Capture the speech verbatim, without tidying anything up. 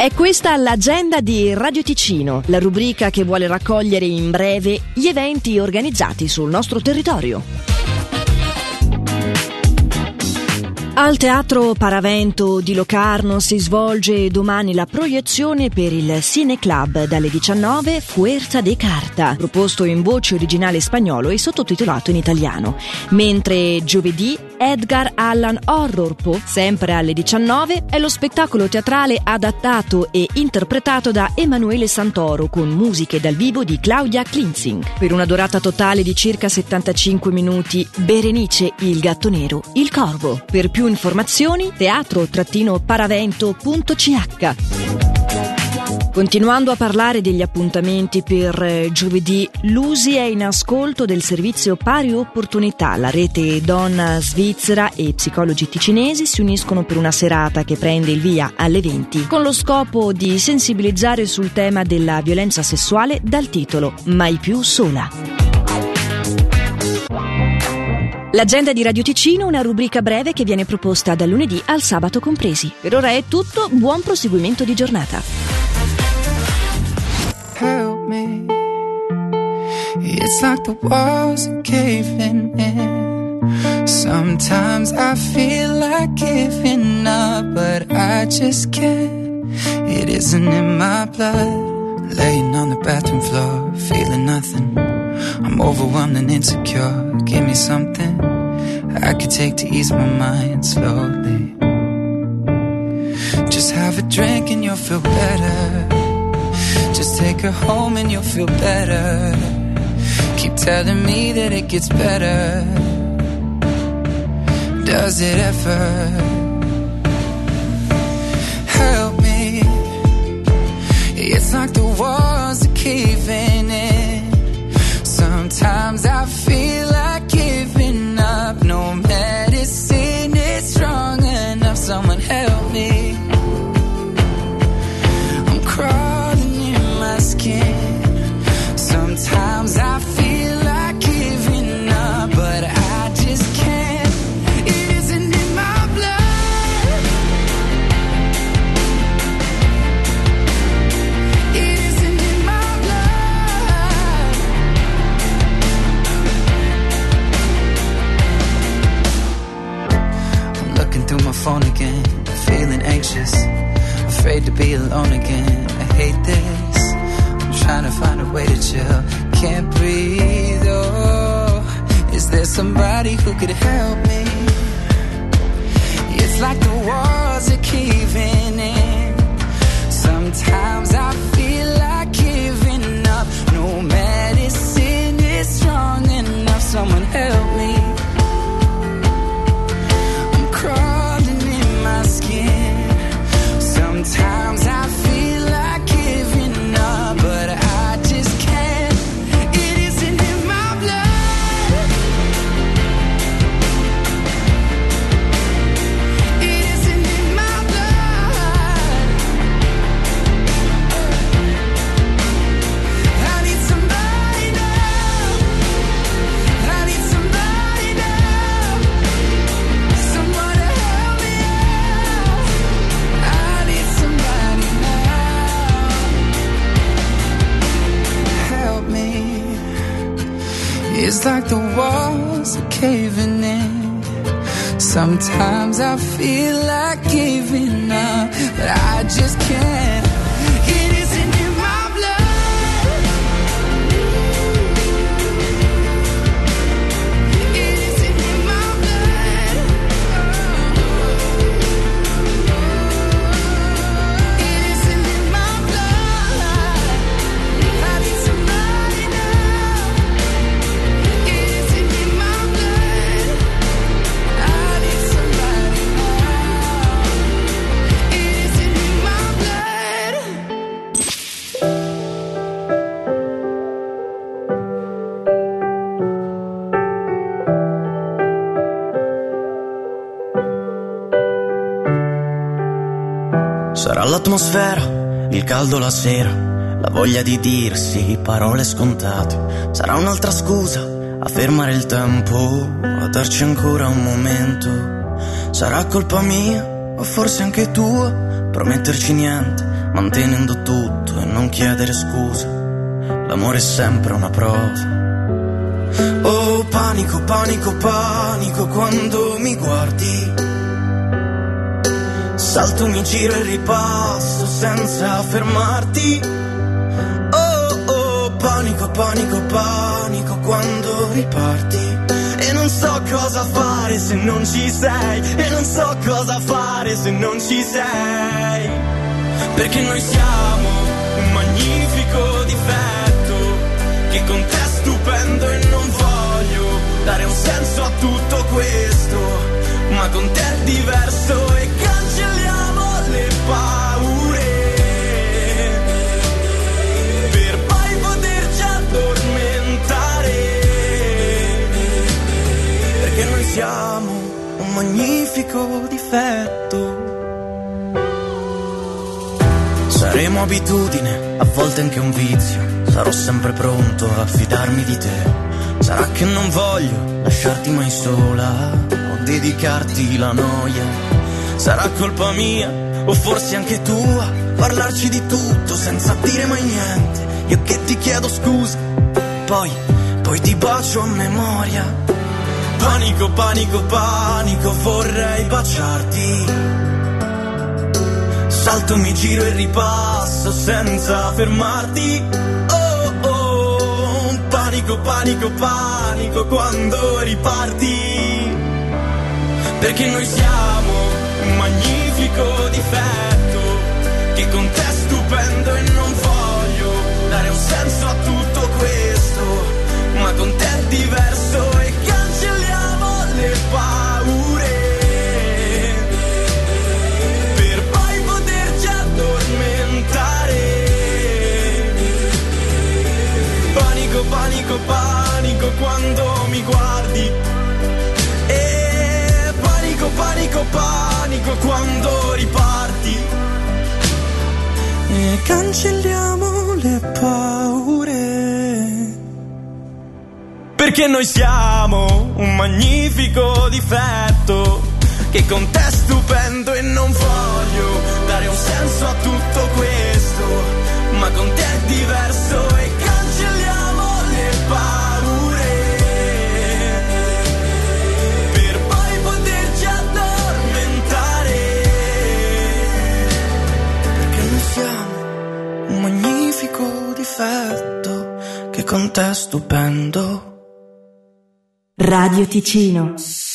È questa l'agenda di Radio Ticino, la rubrica che vuole raccogliere in breve gli eventi organizzati sul nostro territorio. Al Teatro Paravento di Locarno si svolge domani la proiezione per il Cine Club dalle diciannove Fuerza de Carta, proposto in voce originale spagnolo e sottotitolato in italiano, mentre giovedì Edgar Allan Horror Po, sempre alle diciannove, è lo spettacolo teatrale adattato e interpretato da Emanuele Santoro con musiche dal vivo di Claudia Klinzing. Per una durata totale di circa settantacinque minuti, Berenice, il gatto nero, il corvo. Per più informazioni teatro paravento punto c h. Continuando a parlare degli appuntamenti per eh, giovedì, l'U S I è in ascolto del servizio Pari Opportunità. La rete Donna Svizzera e psicologi ticinesi si uniscono per una serata che prende il via alle venti con lo scopo di sensibilizzare sul tema della violenza sessuale dal titolo Mai più sola. L'agenda di Radio Ticino, una rubrica breve che viene proposta dal lunedì al sabato compresi. Per ora è tutto, buon proseguimento di giornata. Help me. It's like the walls are caving in. Sometimes I feel like giving up, but I just can't. It isn't in my blood. Laying on the bathroom floor, feeling nothing. I'm overwhelmed and insecure. Give me something I could take to ease my mind slowly. Just have a drink and you'll feel better. Just take her home and you'll feel better. Keep telling me that it gets better. Does it ever? Help me. It's like the walls are caving in. Sometimes I feel like giving up. No medicine is strong enough. Someone help me. I'm crawling in my skin. Sometimes I feel like giving up, but I just can't. It isn't in my blood. It isn't in my blood. I'm looking through my phone again, feeling anxious, afraid to be alone again. I hate this. I'm trying to find a way to chill. Can't breathe, oh. Is there somebody who could help me? It's like the walls are caving in. Sometimes I feel like giving up. No medicine is strong enough. Someone help me. I'm crawling in my skin. Sometimes I feel like giving up, but I just can't. It isn't in my blood. It isn't in my blood. I need somebody now. I need somebody now. Someone to help me out. I need somebody now. Help me. It's like the walls are caving in. Sometimes I feel like giving up, but I just can't. It isn't in my blood. It isn't in my blood. It isn't in my blood. I need somebody now. It isn't in my blood. I need somebody now. It isn't in my blood. Sarà l'atmosfera, il caldo la sera, la voglia di dirsi parole scontate. Sarà un'altra scusa a fermare il tempo, a darci ancora un momento. Sarà colpa mia o forse anche tua, prometterci niente, mantenendo tutto e non chiedere scusa. L'amore è sempre una prova. Oh, panico, panico, panico quando mi guardi. Salto, mi giro e ripasso senza fermarti. Oh, oh, panico, panico, panico quando riparti. E non so cosa fare se non ci sei. E non so cosa fare se non ci sei. Perché noi siamo un magnifico difetto che con te è stupendo e non voglio dare un senso a tutto questo, ma con te è diverso e cancelliamo le paure per poi poterci addormentare, perché noi siamo un magnifico difetto. Saremo abitudine, a volte anche un vizio. Sarò sempre pronto a fidarmi di te. Sarà che non voglio lasciarti mai sola o dedicarti la noia. Sarà colpa mia o forse anche tua parlarci di tutto senza dire mai niente. Io che ti chiedo scusa, poi, poi ti bacio a memoria. Panico, panico, panico, vorrei baciarti. Salto, mi giro e ripasso senza fermarti. Oh, oh, panico, panico, panico quando riparti. Perché noi siamo un magnifico difetto che con te è stupendo e non voglio dare un senso a tutto questo, ma con te è diverso e cancelliamo le paure per poi poterci addormentare. Panico, panico, panico quando mi guardi. E panico, panico, panico quando riparti. E cancelliamo le paure. Perché noi siamo un magnifico difetto che con te è stupendo e non voglio dare un senso a tutto questo, ma con te è diverso e cancelliamo le paure per poi poterci addormentare, perché noi siamo un magnifico difetto che con te è stupendo. Radio Ticino.